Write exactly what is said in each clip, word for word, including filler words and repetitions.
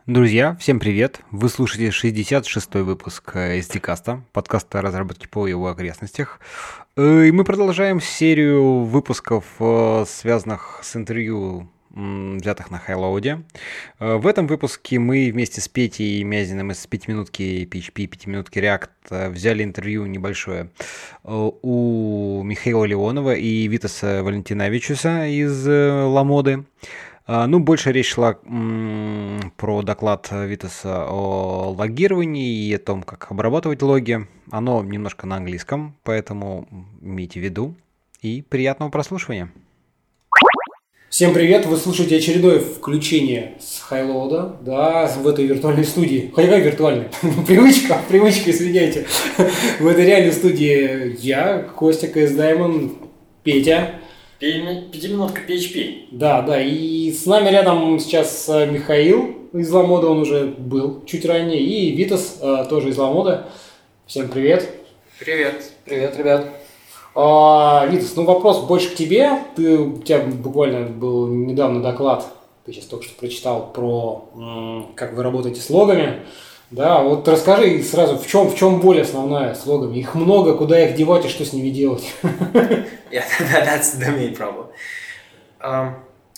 Друзья, всем привет! Вы слушаете шестьдесят шестой выпуск эс ди-каста, подкаста разработки по его окрестностях. И мы продолжаем серию выпусков, связанных с интервью, взятых на Хайлоуде. В этом выпуске мы вместе с Петей Мязиным из пятиминутки пи эйч пи, пятиминутки React взяли интервью небольшое у Михаила Леонова и Витаса Валентиновичуса из Ламоды. Ну, больше речь шла м, про доклад Витаса о логировании и о том, как обрабатывать логи. Оно немножко на английском, поэтому имейте в виду. И приятного прослушивания. Всем привет! Вы слушаете очередное включение с Хайлоуда, да, в этой виртуальной студии. Какая виртуальная? Привычка, привычка, извиняйте. В этой реальной студии я, Костя, кей эс Diamond, Петя. Пятиминутка пи эйч пи. Да, да, и с нами рядом сейчас Михаил из Ламода, он уже был чуть ранее, и Витас тоже из Ламода. Всем привет. Привет. Привет, ребят. А, Витас, ну вопрос больше к тебе. Ты, у тебя буквально был недавно доклад, ты сейчас только что прочитал про м, как вы работаете с логами. Да, вот расскажи сразу, в чем, в чем боль основная с логами? Их много, куда их девать и что с ними делать? Yeah, that, that's the main problem. Um,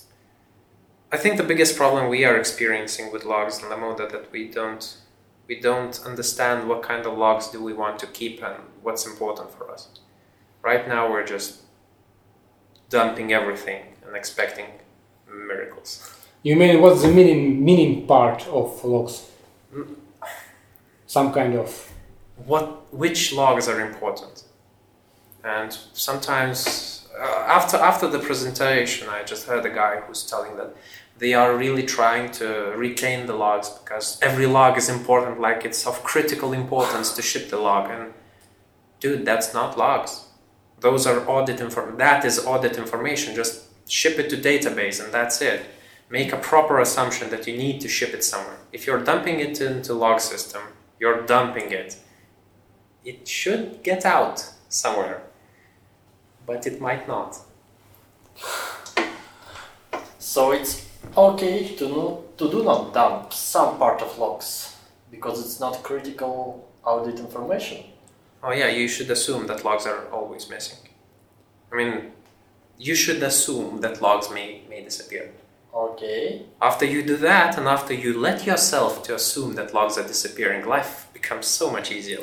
I think the biggest problem we are experiencing with logs in Lamoda that we don't we don't understand what kind of logs do we want to keep and what's important for us. Right now we're just dumping everything and expecting miracles. You mean what's the meaning meaning part of logs? Some kind of what which logs are important. And sometimes uh, after after the presentation, I just heard a guy who's telling that they are really trying to retain the logs because every log is important, like it's of critical importance to ship the log. And dude, that's not logs. Those are audit inform. That is audit information. Just ship it to database and that's it. Make a proper assumption that you need to ship it somewhere. If you're dumping it into log system, you're dumping it. It should get out somewhere. But it might not. So it's okay to no, to do not dump some part of logs because it's not critical audit information. Oh yeah, you should assume that logs are always missing. I mean, you should assume that logs may, may disappear. Okay. After you do that, and after you let yourself to assume that logs are disappearing, life becomes so much easier.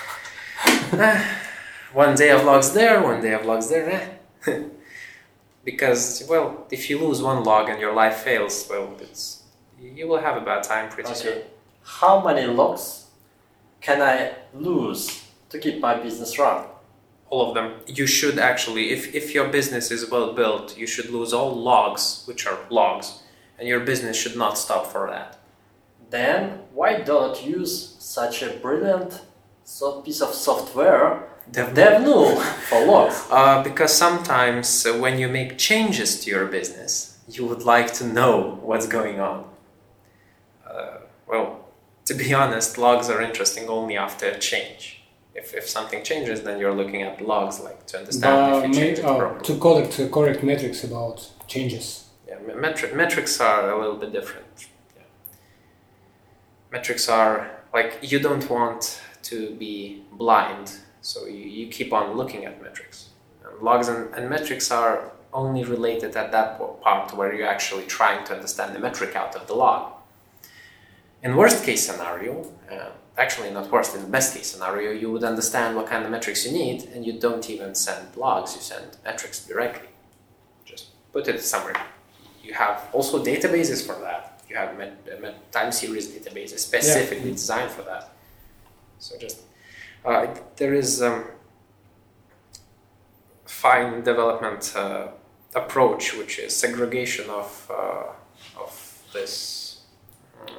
One day of logs there, one day of logs there. Eh. Because, well, if you lose one log and your life fails, well, it's you will have a bad time pretty Okay. soon. How many logs can I lose to keep my business run? All of them. You should actually, if, if your business is well built, you should lose all logs, which are logs, and your business should not stop for that. Then why don't use such a brilliant so piece of software, DevNull, for logs? Uh, because sometimes uh, when you make changes to your business, you would like to know what's going on. Uh, well, to be honest, logs are interesting only after a change. If, if something changes, then you're looking at logs, like to understand uh, if you change it uh, properly. to collect uh, correct metrics about changes. Yeah, metri- metrics are a little bit different. Yeah. Metrics are like you don't want to be blind, so you, you keep on looking at metrics. And logs and, and metrics are only related at that part where you're actually trying to understand the metric out of the log. In worst case scenario, uh, actually not worst, in the best case scenario, you would understand what kind of metrics you need and you don't even send logs, you send metrics directly. Just put it somewhere. You have also databases for that. You have met, met time series databases specifically yeah. designed for that. So just, uh, there is a um, fine development uh, approach, which is segregation of, uh, of this, um,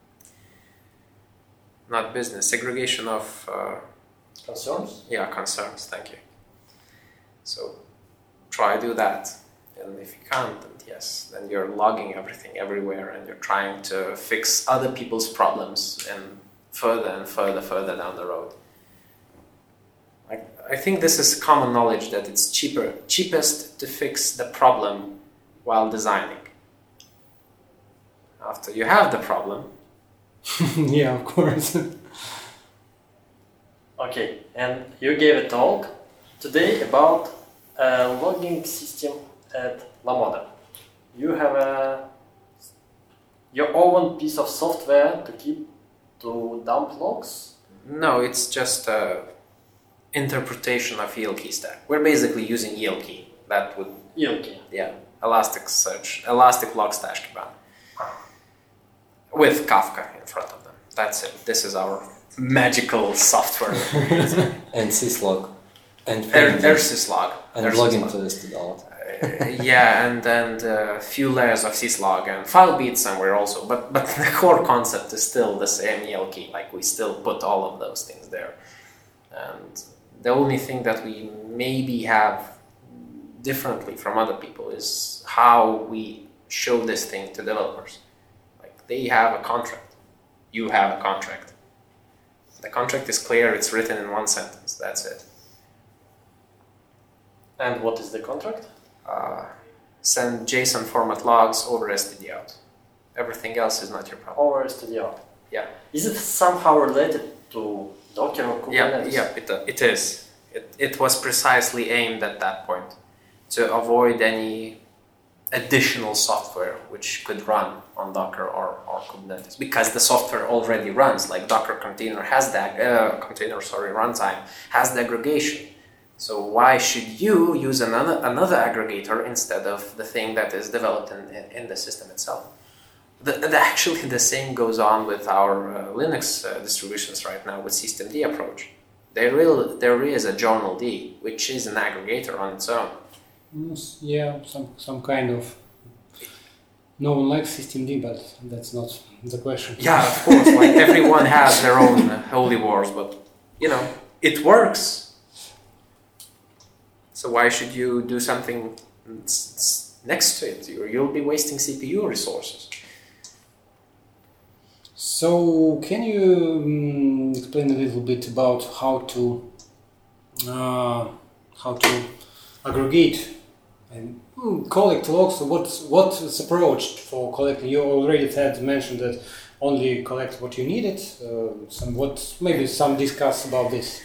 not business, segregation of... Uh, concerns? Yeah, concerns, thank you. So try do that. And if you can't, then yes, then you're logging everything everywhere and you're trying to fix other people's problems and further and further, further down the road. I, I think this is common knowledge that it's cheaper, cheapest to fix the problem while designing. After you have the problem, Yeah, of course. Okay, and you gave a talk today about a logging system at Lamoda. You have a your own piece of software to keep to dump logs? No, it's just a interpretation of E L K stack. We're basically using E L K. That would E L K. yeah, Elasticsearch, Elastic Log Stash Kibana, with Kafka in front of them. That's it. This is our magical software. And syslog. And Er- Ersyslog. and Ersyslog. logging to this out. Uh, yeah, and then a few layers of syslog and filebeat somewhere also. But but the core concept is still the same E L K. Like we still put all of those things there. And the only thing that we maybe have differently from other people is how we show this thing to developers. Like they have a contract. You have a contract. The contract is clear. It's written in one sentence. That's it. And what is the contract? Uh, send JSON format logs over S T D out. Everything else is not your problem. Over S T D out. Yeah. Is it somehow related to Docker or Yeah, Kubernetes? yeah, it, uh, it is. It, it was precisely aimed at that point to avoid any additional software which could run on Docker or, or Kubernetes, because the software already runs. Like Docker container has that uh, container, sorry, runtime has the aggregation. So why should you use another another aggregator instead of the thing that is developed in, in, in the system itself? The, the, actually, the same goes on with our uh, Linux uh, distributions right now with systemd approach. There, will, there is a journald, which is an aggregator on its own. Yes, yeah, some some kind of. No one likes systemd, but that's not the question. Yeah, of course. Like everyone has their own uh, holy wars, but you know it works. So why should you do something next to it? You'll be wasting C P U resources. So, can you um, explain a little bit about how to uh, how to aggregate and mm, collect logs? What's what's approach for collecting? You already had mentioned that only collect what you needed. Uh, some what maybe some discuss about this.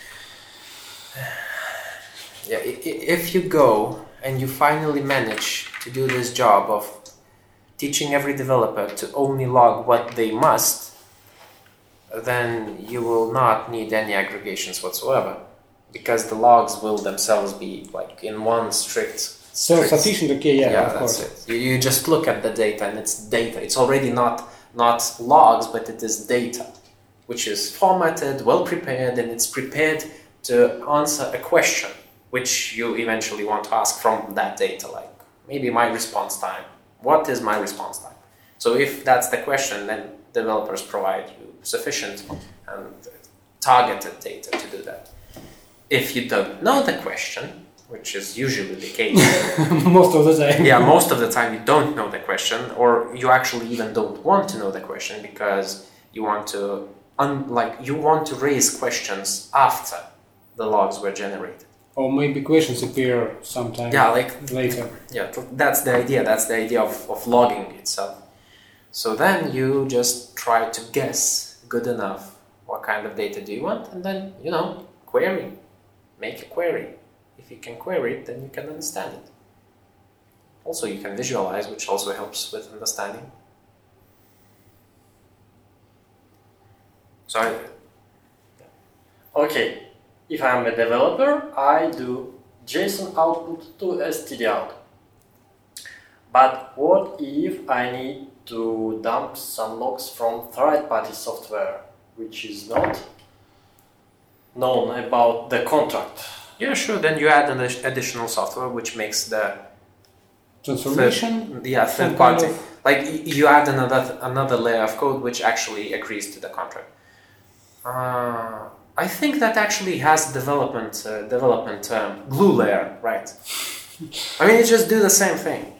Yeah, if you go and you finally manage to do this job of teaching every developer to only log what they must, then you will not need any aggregations whatsoever, because the logs will themselves be like in one strict... Self-sufficient, okay, yeah, yeah of that's course. it. You, you just look at the data and it's data. It's already not, not logs, but it is data, which is formatted, well prepared, and it's prepared to answer a question which you eventually want to ask from that data, like maybe my response time. What is my response time? So if that's the question, then developers provide you sufficient and targeted data to do that. If you don't know the question, which is usually the case. Most of the time. Yeah, most of the time you don't know the question, or you actually even don't want to know the question because you want to, un- like, you want to raise questions after the logs were generated. Or maybe questions appear sometime Yeah, like later. Yeah, that's the idea. That's the idea of, of logging itself. So then you just try to guess good enough what kind of data do you want, and then, you know, query. Make a query. If you can query it, then you can understand it. Also, you can visualize, which also helps with understanding. So, I, Okay, if I'm a developer, I do JSON output to S T D out. But what if I need to dump some logs from third-party software, which is not known about the contract? yeah, sure. Then you add an addi- additional software which makes the Transformation? third, yeah, some third kind party. of- Like y- you add another another layer of code which actually agrees to the contract. Uh, I think that actually has development uh, development term, glue layer, right? I mean, you just do the same thing.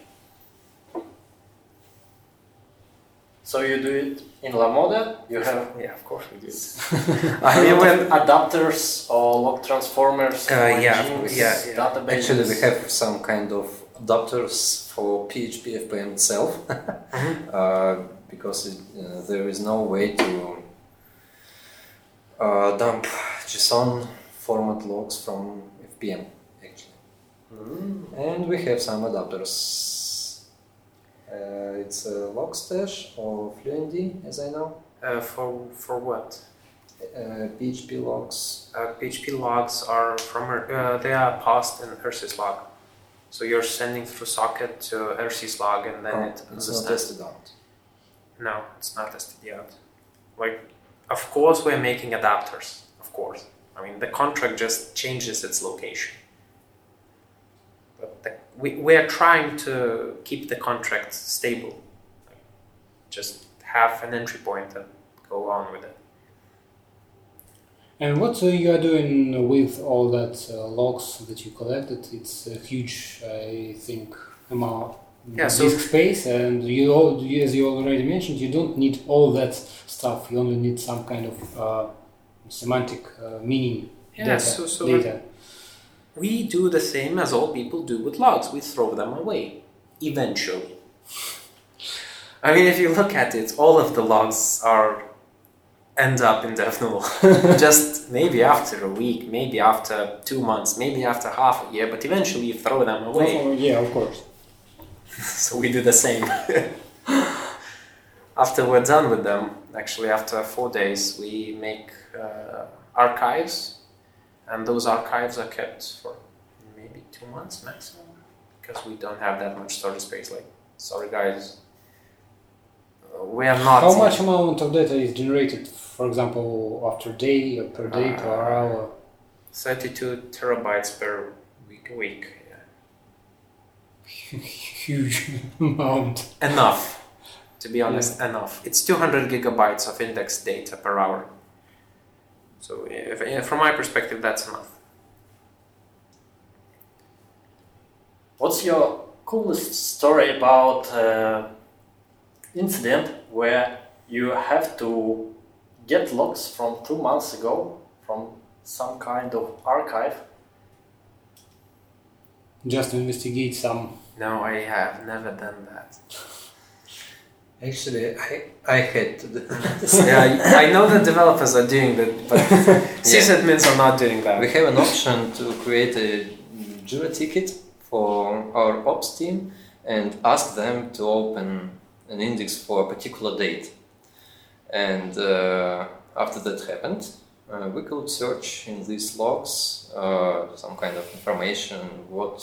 So you do it in Lamoda, you have Yeah, of course we do. I I mean, mean, when adapters or log transformers, Uh, or yeah, genes, yeah, yeah. databases. Actually, we have some kind of adapters for P H P F P M itself. uh, because it, uh, there is no way to uh, dump JSON format logs from F P M actually. Mm. And we have some adapters. Uh, it's a Logstash or Fluentd, as I know. Uh, for for what? Uh, P H P logs. Uh, P H P logs are from uh, they are passed in R syslog. So you're sending through socket to R syslog and then Oh, it it's not understands. tested out. No, it's not tested yet. Like, of course, we're making adapters. Of course, I mean the contract just changes its location. But the, we we are trying to keep the contract stable. Like, just have an entry point and go on with it. And what uh, you are doing with all that uh, logs that you collected? It's a huge, I think, amount Yeah, of so- disk space, and you, all, you, as you already mentioned, you don't need all that stuff. You only need some kind of uh, semantic uh, meaning Yeah, data. so- so data. We do the same as all people do with logs. We throw them away, eventually. I mean, if you look at it, all of the logs are end up in DevNull. Just maybe after a week, maybe after two months, maybe after half a year, but eventually you throw them away. Oh, yeah, of course. So we do the same. After we're done with them, actually after four days, we make uh, archives. And those archives are kept for maybe two months maximum, because we don't have that much storage space. Like, sorry guys, uh, we are not. How much amount of data is generated, for example, after day, or per day, Uh, per hour? thirty-two terabytes per week. Week, yeah. Huge amount. Enough, to be honest, enough. It's two hundred gigabytes of index data per hour. So, if, if, from my perspective, that's enough. What's your coolest story about uh, incident where you have to get logs from two months ago from some kind of archive? Just to investigate some. No, I have never done that. Actually, I, I had to do Yeah, I I know that developers are doing that, but sysadmins are not doing that. We have an option to create a Jira ticket for our ops team and ask them to open an index for a particular date. And uh, after that happened, uh, we could search in these logs uh, some kind of information, what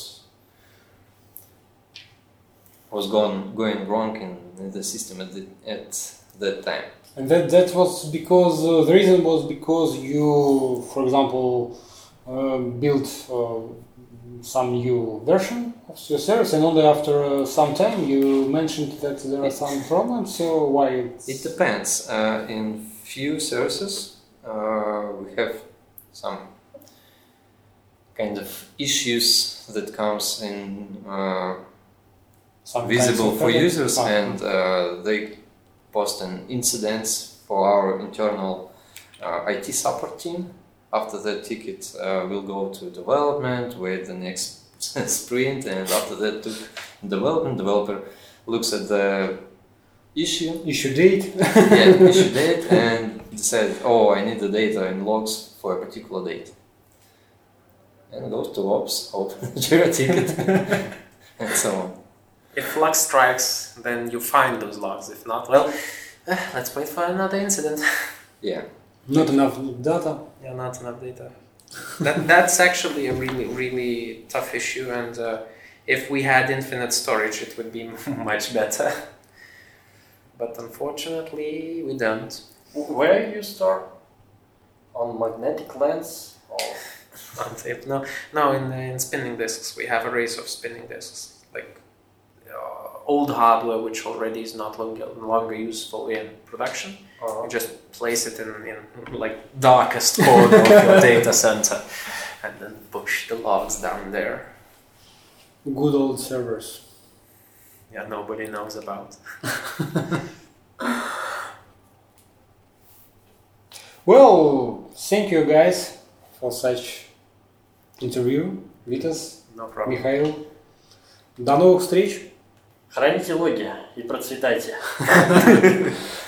was gone, going wrong in, in the system at, the, at that time. And that, that was because, uh, the reason was because you, for example, uh, built uh, some new version of your service, and only after uh, some time you mentioned that there are some problems, so why? It's... It depends. Uh, in few services, uh, we have some kind of issues that comes in uh, some visible kinds of for problems. users, Ah. and uh, they post an incidents for our internal uh, I T support team. After that ticket, uh, we'll go to development, wait the next sprint, and after that to development, developer looks at the issue, Issue date. yeah, issue date, and decide, oh, I need the data in logs for a particular date. And goes to ops, open the Jira ticket, and so on. If Flux strikes, then you find those logs. If not, well, uh, let's wait for another incident. Yeah. Not enough data. Yeah, not enough data. That, that's actually a really, really tough issue, and uh, if we had infinite storage, it would be much better. But unfortunately, we don't. Where you store? On magnetic lens? Or On tape, no, no. In in spinning disks, we have arrays of spinning disks, like uh, old hardware which already is not longer longer useful in production. uh, You just place it in, in like darkest corner of your data center, and then push the logs down there. Good old servers. Yeah, nobody knows about. Well, thank you guys for such interview. Vitas, No problem. Mikhail. До новых встреч. Храните логи и процветайте.